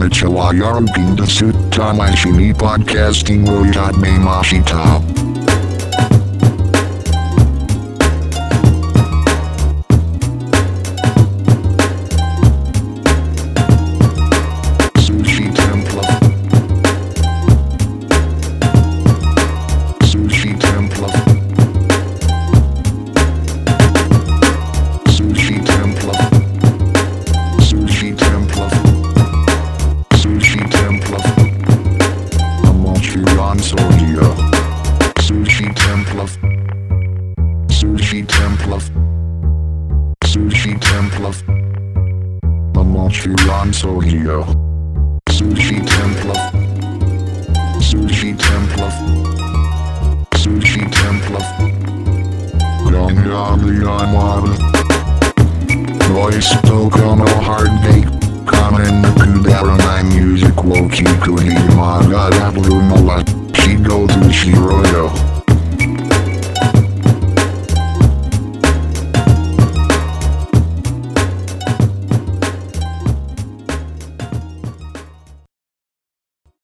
konnichiwa yorobin desu tamashini podcasting wo mashita. Voice Tokono hard bake, Kamen Kudara my music wo kiku hima ga Blue Mala, Shigo to Shiro